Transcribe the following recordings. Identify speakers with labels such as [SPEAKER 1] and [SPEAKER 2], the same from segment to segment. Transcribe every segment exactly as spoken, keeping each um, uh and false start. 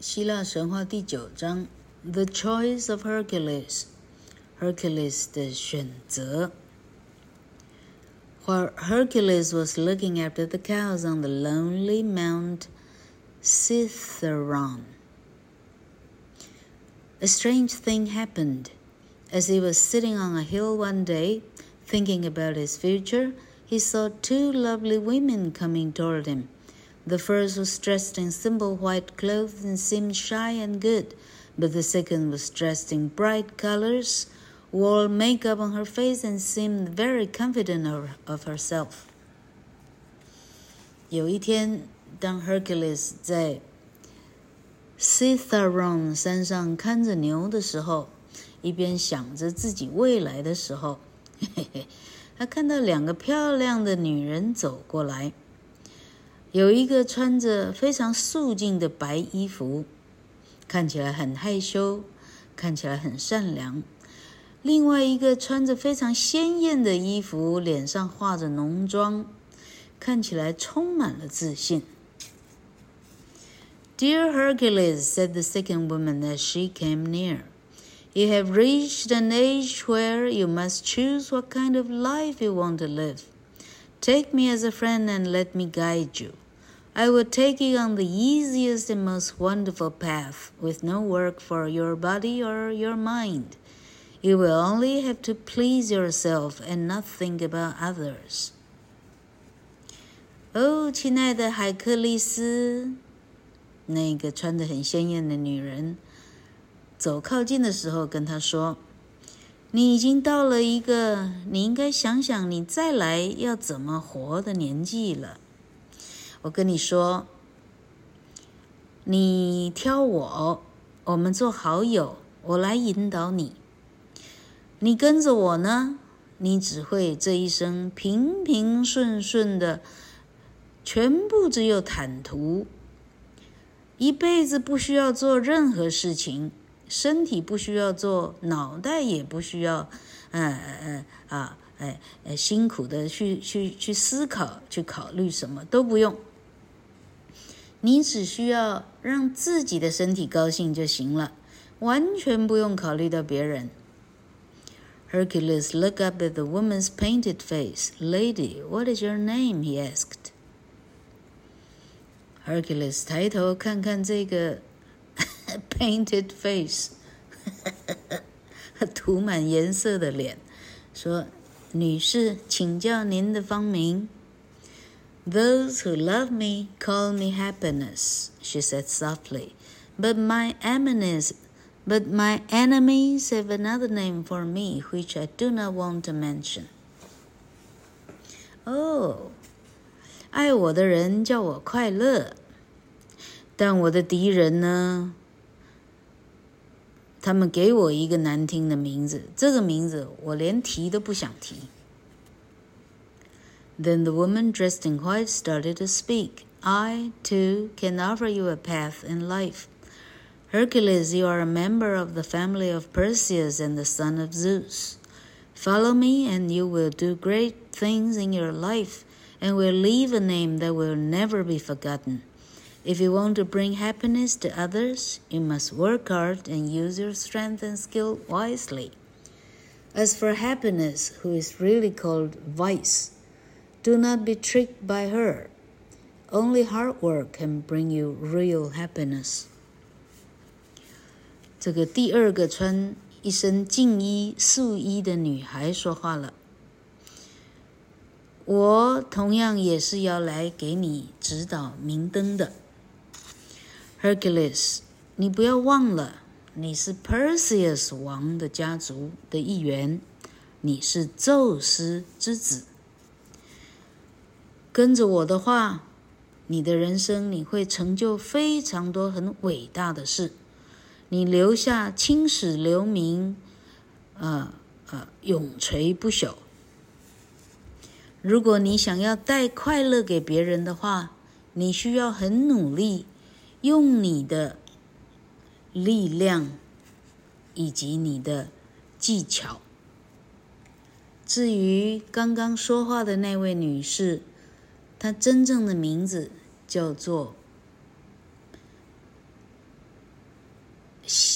[SPEAKER 1] 希臘神話第九章 The Choice of Hercules Hercules 的選擇。 While Hercules was looking after the cows on the lonely Mount Cithaeron, a strange thing happened. As he was sitting on a hill one day, thinking about his future, he saw two lovely women coming toward him. The first was dressed in simple white clothes and seemed shy and good, but the second was dressed in bright colors, wore makeup on her face, and seemed very confident of, of herself. 有一天，當 Hercules 在 Cithaeron 山上看着牛的時候，一邊想着自己未來的時候，嘿嘿，他看到兩個漂亮的女人走過來。有一個穿着非常素淨的白衣服，看起來很害羞，看起來很善良。另外一個穿着非常鮮豔的衣服，臉上畫着濃妝，看起來充滿了自信。Dear Hercules, said the second woman as she came near, you have reached an age where you must choose what kind of life you want to live. Take me as a friend and let me guide you.I will take you on the easiest and most wonderful path, with no work for your body or your mind. You will only have to please yourself and not think about others. 哦，親愛的海克力斯，那個穿得很鮮豔的女人走靠近的時候跟他說，你已經到了一個你應該想想你再來要怎麼活的年紀了。我跟你說，你挑我，我們做好友，我來引導你。你跟着我呢，你只會這一生平平順順的，全部只有坦途，一輩子不需要做任何事情，身體不需要做，腦袋也不需要，呃呃啊，哎呃辛苦的去去去思考，去考慮什麼都不用。你只需要讓自己的身體高興就行了，完全不用考慮到別人。Hercules looked up at the woman's painted face. Lady, what is your name? He asked. Hercules 抬頭看看這個painted face 塗滿顏色的臉，說，女士，請教您的芳名。Those who love me call me happiness, she said softly. But my enemies, but my enemies have another name for me, which I do not want to mention. Oh, 愛我的人叫我快樂，但我的敵人呢？他們給我一個難聽的名字，這個名字我連提都不想提。Then the woman dressed in white started to speak. I, too, can offer you a path in life. Hercules, you are a member of the family of Perseus and the son of Zeus. Follow me, and you will do great things in your life, and will leave a name that will never be forgotten. If you want to bring happiness to others, you must work hard and use your strength and skill wisely. As for happiness, who is really called vice,Do not be tricked by her. Only hard work can bring you real happiness. 這個第二個穿一身淨衣素衣的女孩說話了。我同樣也是要來給你指導明燈的。Hercules, 你不要忘了，你是 Perseus 王的家族的一員，你是宙斯之子。跟着我的話，你的人生你會成就非常多很偉大的事，你留下青史留名，呃呃，永垂不朽。如果你想要帶快樂給別人的話，你需要很努力，用你的力量以及你的技巧。至於剛剛說話的那位女士，她真正的名字叫做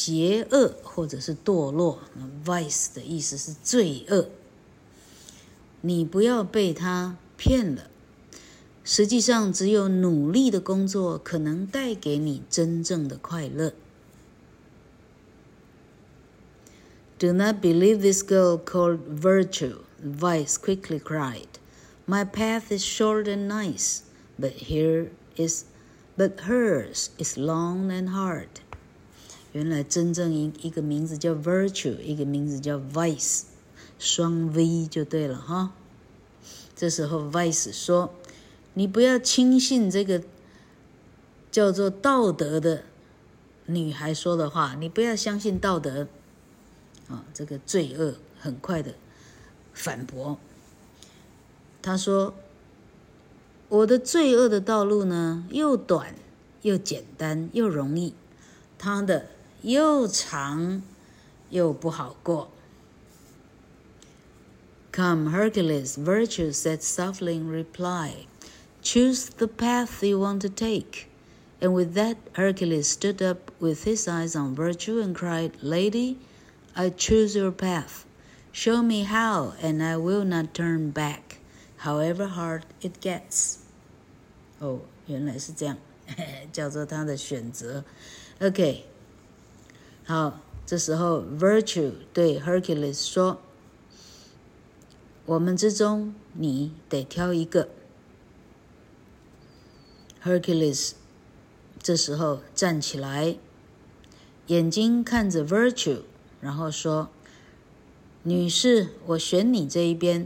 [SPEAKER 1] 邪惡或者是墮落。Vice 的意思是罪惡。你不要被他騙了。實際上，只有努力的工作可能帶給你真正的快樂。Do not believe this girl called Virtue, Vice quickly cried. My path is short and nice, but here is, but hers is long and hard. 原來真正一一個名字叫 Virtue， 一個名字叫 Vice， 雙 V 就對了哈。這時候 Vice 說，你不要輕信這個叫做道德的女孩說的話，你不要相信道德啊，這個罪惡很快的反駁。他說，我的罪惡的道路呢，又短又簡單又容易，他的又長又不好過。Come, Hercules, Virtue said softly in reply. Choose the path you want to take. And with that, Hercules stood up with his eyes on Virtue and cried, Lady, I choose your path. Show me how, and I will not turn back, however hard it gets. 哦，原來是這樣，叫做他的選擇。OK， 好，這時候 Virtue 對 Hercules 說，我們之中你得挑一個。Hercules 這時候站起來，眼睛看着 Virtue， 然後說，女士，我選你這一邊，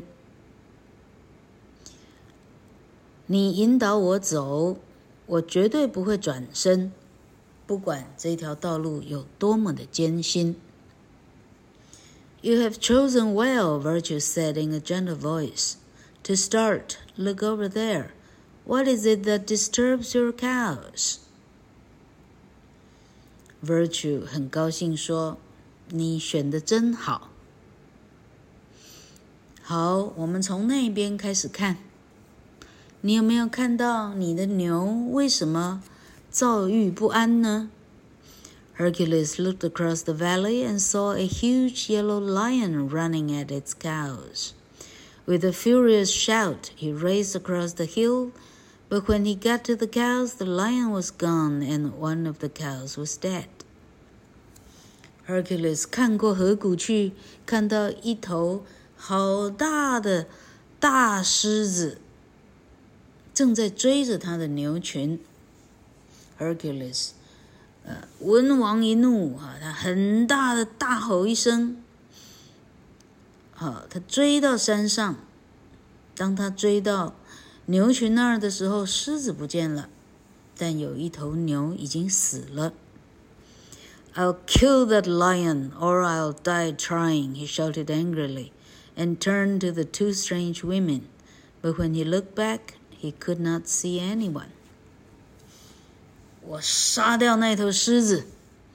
[SPEAKER 1] 你引導我走，我絕對不會轉身，不管這條道路有多麼的艱辛。You have chosen well, Virtue said in a gentle voice. To start, look over there. What is it that disturbs your cows? Virtue 很高興說，你選得真好。好，我們從那邊開始看。你有沒有看到你的牛為什麼躁鬱不安呢？Hercules looked across the valley and saw a huge yellow lion running at its cows. With a furious shout, he raced across the hill, but when he got to the cows, the lion was gone and one of the cows was dead. Hercules 看過河谷去，看到一頭好大的大獅子正在追着他的牛群。Hercules呃，文王一怒啊，他很大的大吼一聲，好，他追到山上。當他追到牛群那兒的時候，獅子不見了，但有一頭牛已經死了。I'll kill that lion, or I'll die trying, he shouted angrily, and turned to the two strange women. But when he looked back, he could not see anyone.我殺掉那頭獅子，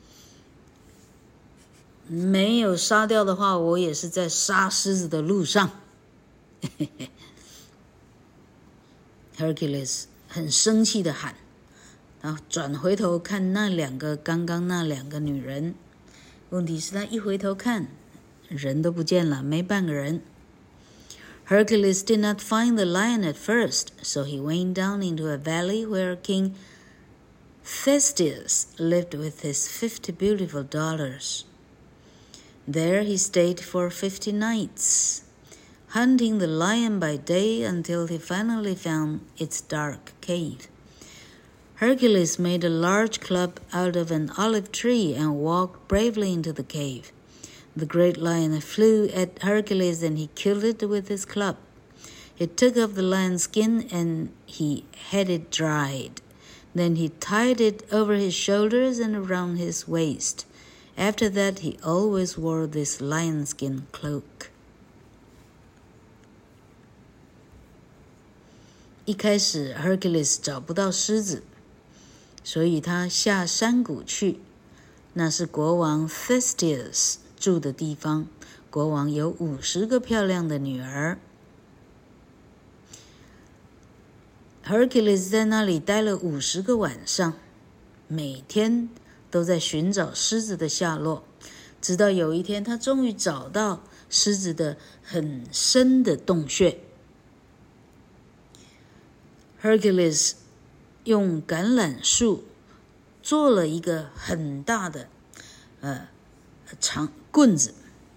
[SPEAKER 1] 沒有殺掉的話，我也是在殺獅子的路上。Hercules 很生氣地喊，然後轉回頭看那兩個剛剛那兩個女人。問題是他一回頭看，人都不見了，沒半個人。Hercules did not find the lion at first, so he went down into a valley where King Theseus lived with his fifty beautiful daughters. There he stayed for fifty nights, hunting the lion by day until he finally found its dark cave. Hercules made a large club out of an olive tree and walked bravely into the cave. The great lion flew at Hercules and he killed it with his club. He took off the lion's skin and he had it dried.Then he tied it over his shoulders and around his waist. After that, he always wore this lion-skin cloak. 一開始 Hercules 找不到獅子，所以他下山谷去。那是國王 Theseus 住的地方。國王有五十個漂亮的女兒。Hercules 在那裡待了五十個晚上，每天都在尋找獅子的下落，直到有一天，他終於找到獅子的很深的洞穴。Hercules 用橄欖樹做了一個很大的呃長棍子，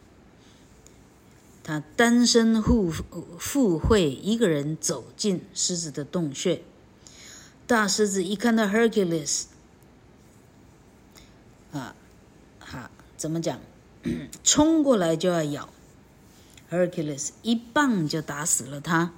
[SPEAKER 1] 他單身赴赴會一個人走進獅子的洞穴。大獅子一看到 Hercules 啊啊怎麼講衝過來就要咬 Hercules 一棒就打死了他。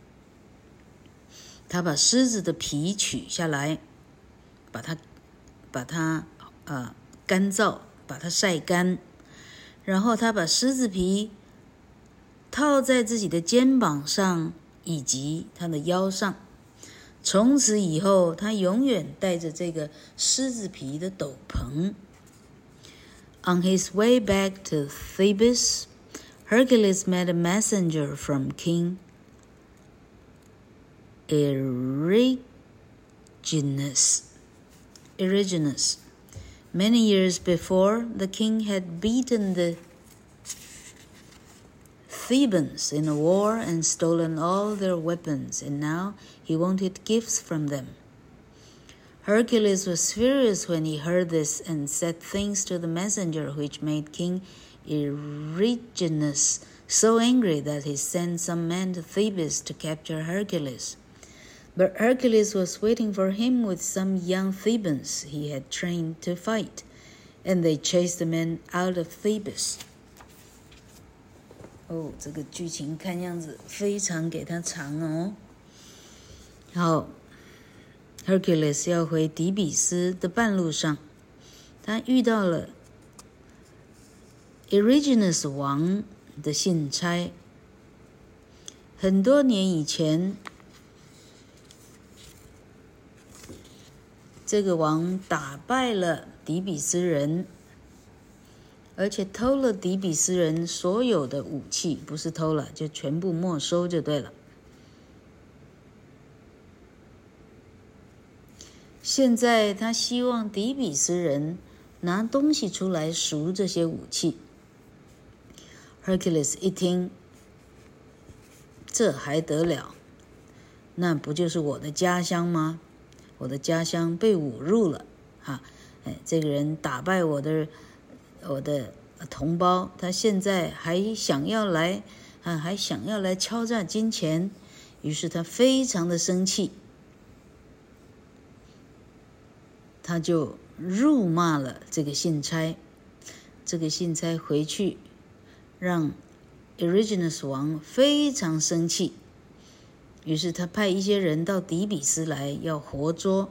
[SPEAKER 1] 他把獅子的皮取下來，把它把它呃乾燥，把它曬乾，然後他把獅子皮套在自己的肩膀上以及他的腰上。從此以後，他永遠帶着這個獅子皮的斗篷。On his way back to Thebes, Hercules met a messenger from King Erigenes. Erigenes. Many years before, the king had beaten the Thebans in a war and stolen all their weapons, and now he wanted gifts from them. Hercules was furious when he heard this and said things to the messenger which made King Erigenes so angry that he sent some men to Thebes to capture Hercules. But Hercules was waiting for him with some young Thebans he had trained to fight, and they chased the men out of Thebes. 哦，這個劇情看樣子非常給他長哦。好 ，Hercules 要回底比斯的半路上，他遇到了 Erigenes 王的信差。很多年以前，這個王打敗了底比斯人，而且偷了底比斯人所有的武器，不是偷了，就全部沒收就對了。現在他希望底比斯人拿東西出來贖這些武器。Hercules 一聽，這還得了？那不就是我的家鄉嗎？我的家鄉被侮辱了，哈，哎，這個人打敗我的我的同胞，他現在還想要來，啊，還想要來敲詐金錢，於是他非常的生氣，他就辱罵了這個信差。這個信差回去，讓 Erigenes 王非常生氣。於是他派一些人到底比斯來，要活捉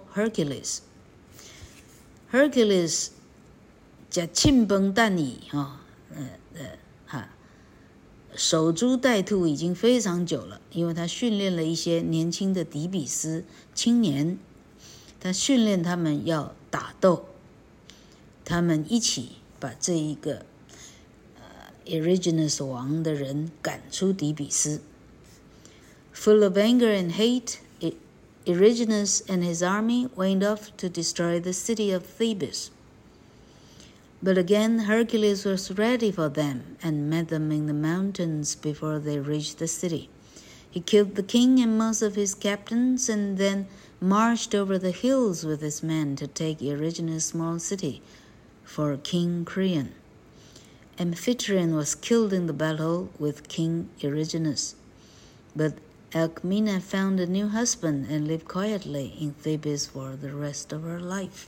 [SPEAKER 1] Hercules。Hercules 假慶崩蛋矣哈，呃呃哈，守株待兔已經非常久了，因為他訓練了一些年輕的底比斯青年，他訓練他們要打鬥，他們一起把這一個呃 Erigenes 王的人趕出底比斯。Full of anger and hate, Erigenes and his army went off to destroy the city of Thebes. But again Hercules was ready for them and met them in the mountains before they reached the city. He killed the king and most of his captains and then marched over the hills with his men to take Erigenes' small city for King Creon. Amphitryon was killed in the battle with King Erigenes. But Alcmena found a new husband and lived quietly in Thebes for the rest of her life.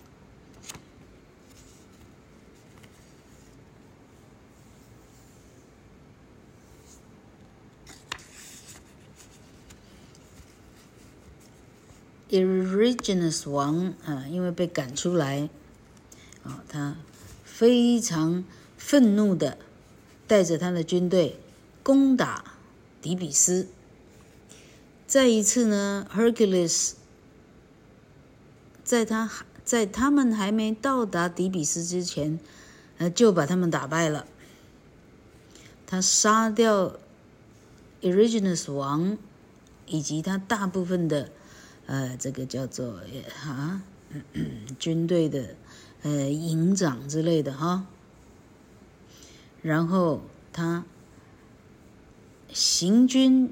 [SPEAKER 1] Erigenes 王啊，因為被趕出來，啊，他非常憤怒的帶着他的軍隊攻打底比斯。再一次呢 ，Hercules 在他在他們還沒到達底比斯之前，呃，就把他們打敗了。他殺掉 Erigenes 王以及他大部分的呃，這個叫做啊、嗯、軍隊的呃營長之類的哈。然後他行軍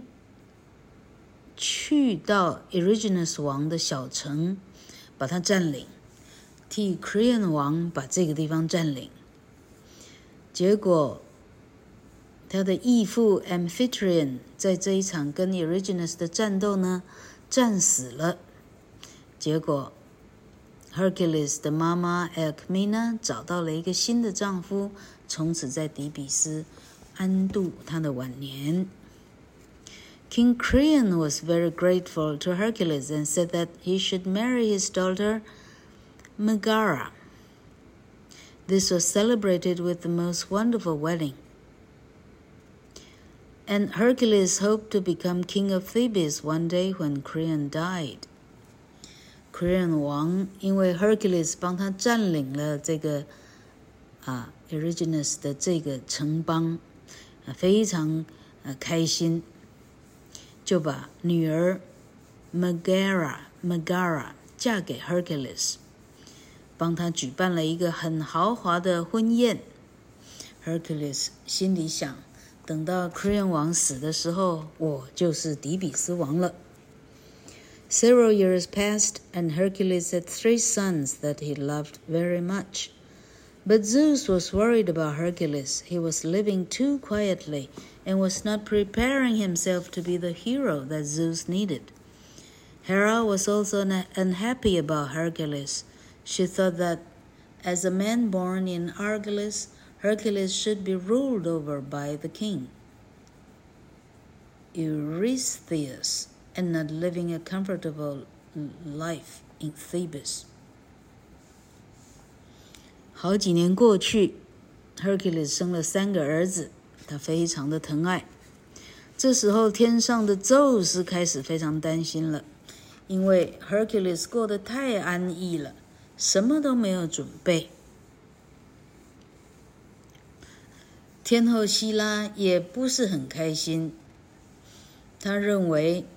[SPEAKER 1] 去到 Eryginus 王的小城，把它佔領，替 Creon 王把這個地方佔領。結果他的義父 Amphitryon 在這一場跟 Eryginus 的戰鬥呢，戰死了。結果 Hercules 的媽媽 Alcmena 找到了一個新的丈夫，從此在底比斯安度他的晚年。King Creon was very grateful to Hercules and said that he should marry his daughter Megara. This was celebrated with the most wonderful wedding. And Hercules hoped to become king of Thebes one day when Creon died. Creon 王因為 Hercules 幫他佔領了這個啊 Eryginus 的這個城邦，啊非常啊開心，就把女兒 Megara Megara 嫁給 Hercules， 幫他舉辦了一個很豪華的婚宴。Hercules 心裡想，等到 Creon 王死的時候，我就是底比斯王了。Several years passed, and Hercules had three sons that he loved very much. But Zeus was worried about Hercules. He was living too quietly and was not preparing himself to be the hero that Zeus needed. Hera was also unhappy about Hercules. She thought that as a man born in Argolis, Hercules should be ruled over by the king, Eurystheus, and not living a comfortable life in Thebes. 好幾年過去 Hercules 生了三個兒子，他非常的疼愛。這時候天上的宙斯開始非常擔心了，因為 Hercules 過得太安逸了，什麼都沒有準備。天後希拉也不是很開心，他認為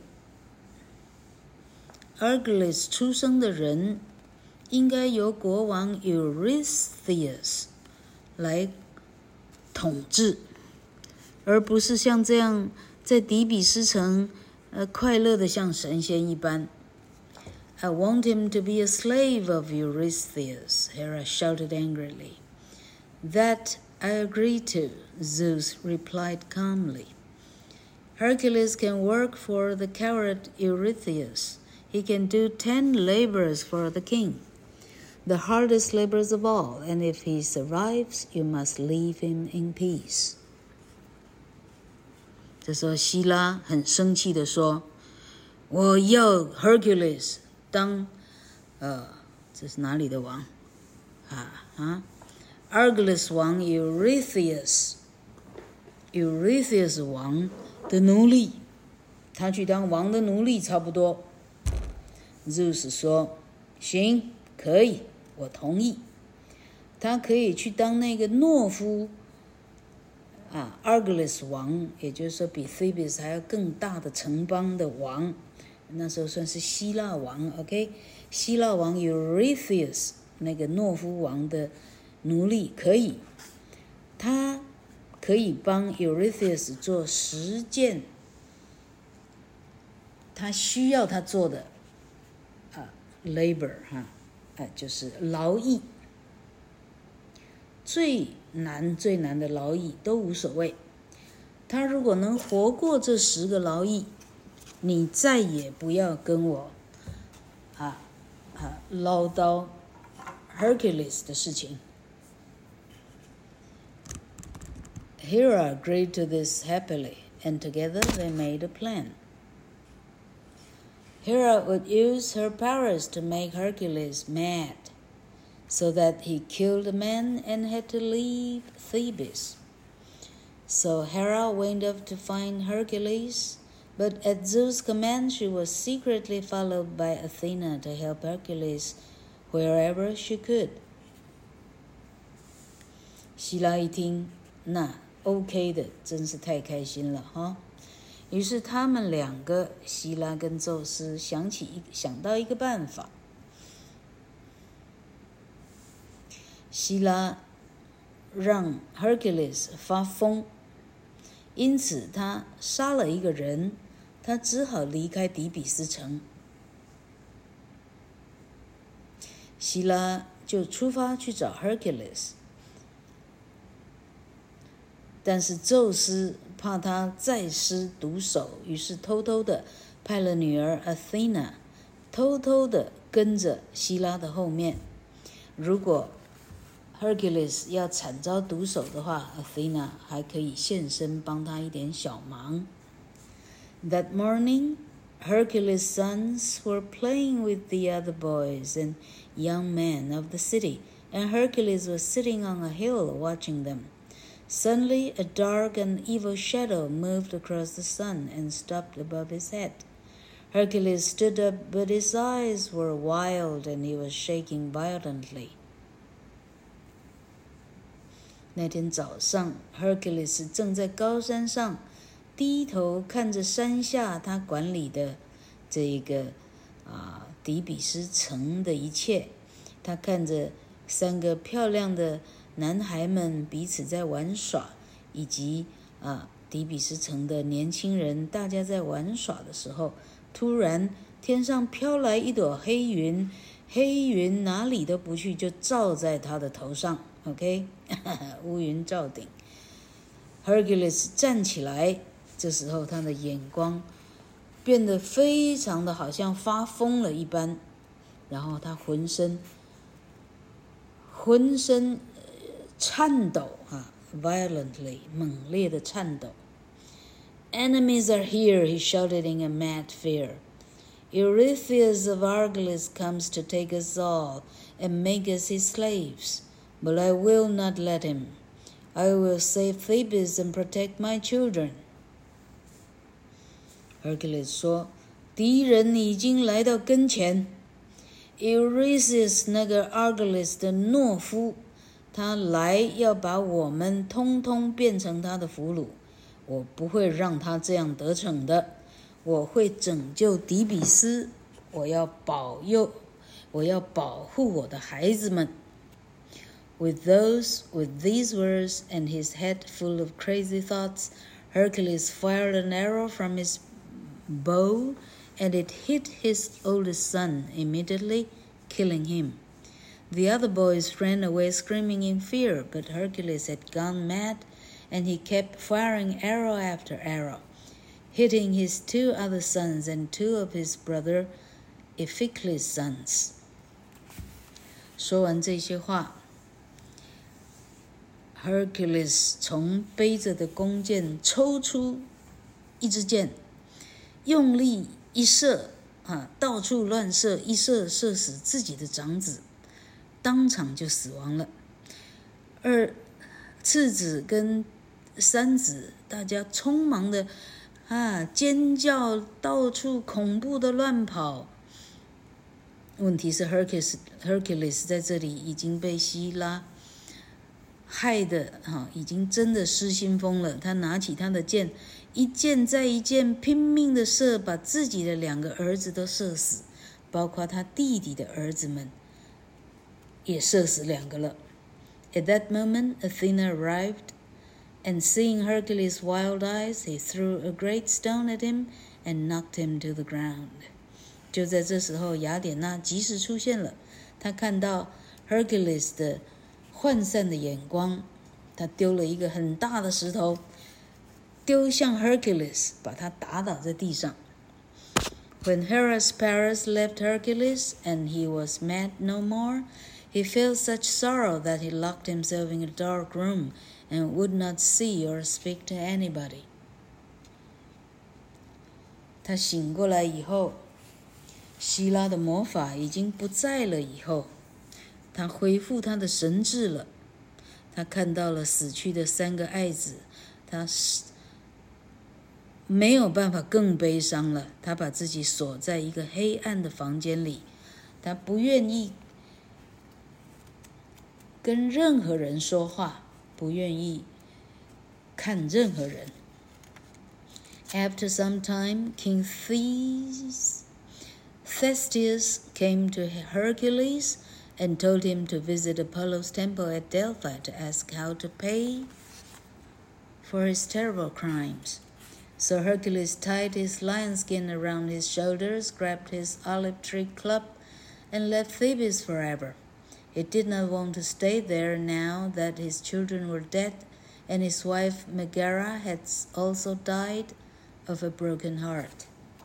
[SPEAKER 1] Argolis 出生的人應該由國王 Eurystheus 來統治，而不是像這樣在底比斯城呃快樂的像神仙一般。I want him to be a slave of Eurystheus, Hera shouted angrily. That I agree to, Zeus replied calmly. Hercules can work for the coward Eurystheus. He can do ten labors for the king, the hardest labors of all, and if he survives, you must leave him in peace. 這時候希拉很生氣地說，我要 Hercules 當呃這是哪裡的王啊啊 Argolis 王 Eurystheus Eurystheus 王的奴隸，他去當王的奴隸差不多。Zeus 說行，可以，我同意。他可以去當那個懦夫啊 Argolis 王，也就是說比 Thebes 還要更大的城邦的王，那時候算是希臘王 OK 希臘王 Eurystheus 那個懦夫王的奴隸可以，他可以幫 Eurystheus 做十件他需要他做的啊 labor 哈、啊，就是勞役，最難最難的勞役都無所謂。他如果能活過這十個勞役，你再也不要跟我啊啊嘮叨 Hercules 的事情。Hera agreed to this happily, and together they made a plan. Hera would use her powers to make Hercules mad, so that he killed a man and had to leave Thebes. So Hera went off to find Hercules, but at Zeus' command she was secretly followed by Athena to help Hercules wherever she could. 希拉一聽，那 OK 的，真是太開心了哈！於是他們兩個，希拉跟宙斯想起想到一個辦法。 希拉讓 Hercules 發瘋，因此他殺了一個人，他只好離開底比斯城。希拉就出發去找 Hercules， 但是宙斯怕他再施毒手，於是偷偷的派了女兒 Athena 偷偷的跟着希拉的後面。如果 Hercules 要慘遭毒手的話， Athena 還可以現身幫他一點小忙。That morning, Hercules' sons were playing with the other boys and young men of the city, and Hercules was sitting on a hill watching them. Suddenly, a dark and evil shadow moved across the sun and stopped above his head. Hercules stood up, but his eyes were wild and he was shaking violently. 那天早上 Hercules 正在高山上低頭看着山下他管理的這個啊底比斯城的一切，他看着三個漂亮的男孩們彼此在玩耍，以及啊底比斯城的年輕人大家在玩耍的時候，突然天上飄來一朵黑雲，黑雲哪裡都不去，就罩在他的頭上。OK， 烏雲罩頂。Hercules 站起來，這時候他的眼光變得非常的好像發瘋了一般，然後他渾身渾身顫抖啊 ，violently 猛烈的顫抖。Enemies are here, he shouted in a mad fear. Eurystheus of Argolis comes to take us all and make us his slaves.But I will not let him. I will save Thebes and protect my children. Hercules 說，敵人已經來到跟前。Eurystheus 那個 Argolis 的懦夫，他來要把我們通通變成他的俘虜。我不會讓他這樣得逞的。我會拯救底比斯，我要保佑，我要保護我的孩子們。With those, with these words and his head full of crazy thoughts, Hercules fired an arrow from his bow, and it hit his oldest son immediately, killing him. The other boys ran away screaming in fear, but Hercules had gone mad, and he kept firing arrow after arrow, hitting his two other sons and two of his brother Iphiclus' sons. 說完這些話，Hercules 從背着的弓箭抽出一支箭，用力一射，啊，到處亂射，一射射死自己的長子，當場就死亡了。二次子跟三子，大家匆忙的啊尖叫，到處恐怖的亂跑。問題是 Hercules Hercules 在這裡已經被希拉害的哈，已經真的失心瘋了。他拿起他的箭，一箭再一箭拼命的射，把自己的兩個兒子都射死，包括他弟弟的兒子們也射死兩個了。At that moment, Athena arrived, and seeing Hercules' wild eyes, he threw a great stone at him and knocked him to the ground. 就在這時候，雅典娜及時出現了。她看到 Hercules 的渙散的眼光，他丟了一個很大的石頭，丟向 Hercules， 把他打倒在地上。When Hera's Paris left Hercules and he was mad no more, he felt such sorrow that he locked himself in a dark room and would not see or speak to anybody. 他醒過來以後，希拉的魔法已經不在了以後，他恢復他的神智了。他看到了死去的三個愛子，他沒有辦法更悲傷了。他把自己鎖在一個黑暗的房間裡，他不願意跟任何人說話，不願意看任何人。After some time, King Theseus came to Hercules and told him to visit Apollo's temple at Delphi to ask how to pay for his terrible crimes. So Hercules tied his lion skin around his shoulders, grabbed his olive tree club, and left Thebes forever. He did not want to stay there now that his children were dead, and his wife Megara had also died of a broken heart.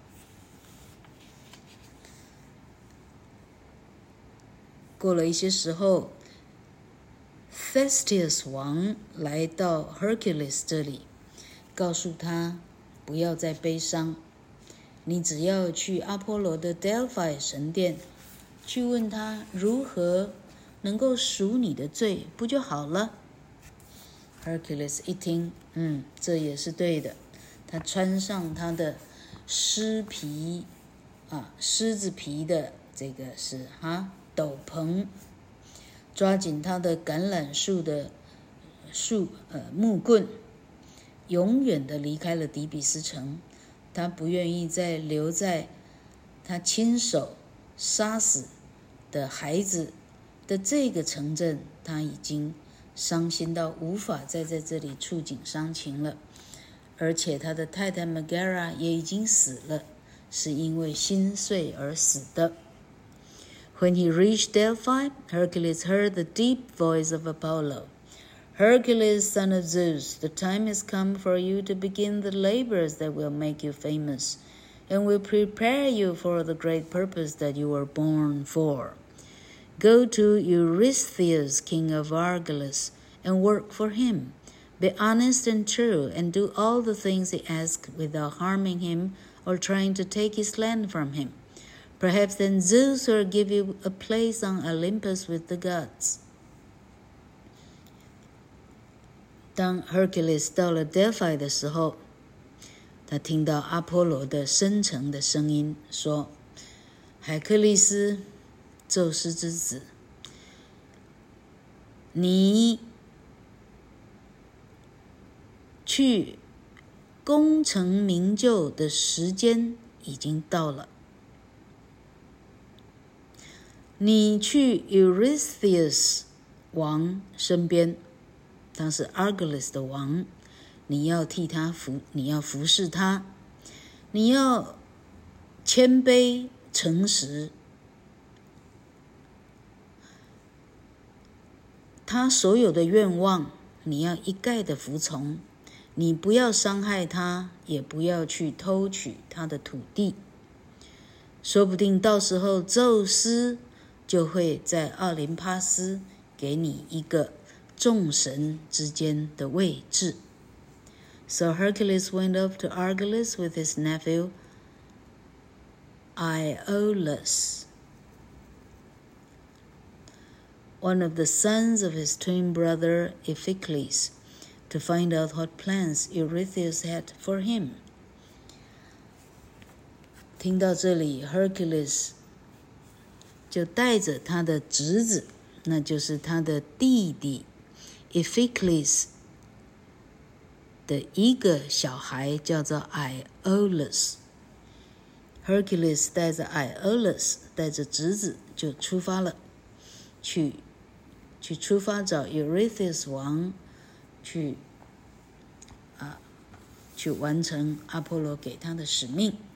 [SPEAKER 1] 过了一些时候 Thestius 王来到 Hercules 這裡，告訴他不要再悲傷，你只要去阿波羅的 Delphi 神殿，去問他如何能夠贖你的罪，不就好了？ Hercules 一聽，嗯，這也是對的。他穿上他的獅皮啊，獅子皮的這個是哈斗篷，抓緊他的橄欖樹的樹呃木棍，永遠的離開了底比斯城。他不願意再留在他親手殺死的孩子的這個城鎮，他已經傷心到無法再在這裡觸景傷情了。而且他的太太 Megara 也已經死了，是因為心碎而死的。When he reached Delphi, Hercules heard the deep voice of Apollo. Hercules, son of Zeus, the time has come for you to begin the labors that will make you famous, and will prepare you for the great purpose that you were born for. Go to Eurystheus, king of Argolis, and work for him. Be honest and true, and do all the things he asks without harming him or trying to take his land from him. Perhaps then Zeus will give you a place on Olympus with the gods. 當 Hercules 到了 Delphi 的時候，他聽到阿波羅的深沉的聲音說：“海克力斯，宙斯之子，你去功成名就的時間已經到了。你去 Eurystheus 王身邊，他是 Argolis 的王，你要替他服，你要服侍他，你要謙卑誠實，他所有的願望你要一概的服從，你不要傷害他，也不要去偷取他的土地。說不定到時候宙斯就會在奧林帕斯給你一個眾神之間的位置。So Hercules went up to Argolis with his nephew Iolaus, one of the sons of his twin brother Iphicles, to find out what plans Eurystheus had for him. 聽到這裡 Hercules 就帶着他的侄子，那就是他的弟弟 Iphicles 的一個小孩，叫做 Iolaus。 Hercules 帶着 Iolaus 帶着侄子就出發了，去去出發找 Eurystheus 王，去啊去完成阿波羅給他的使命。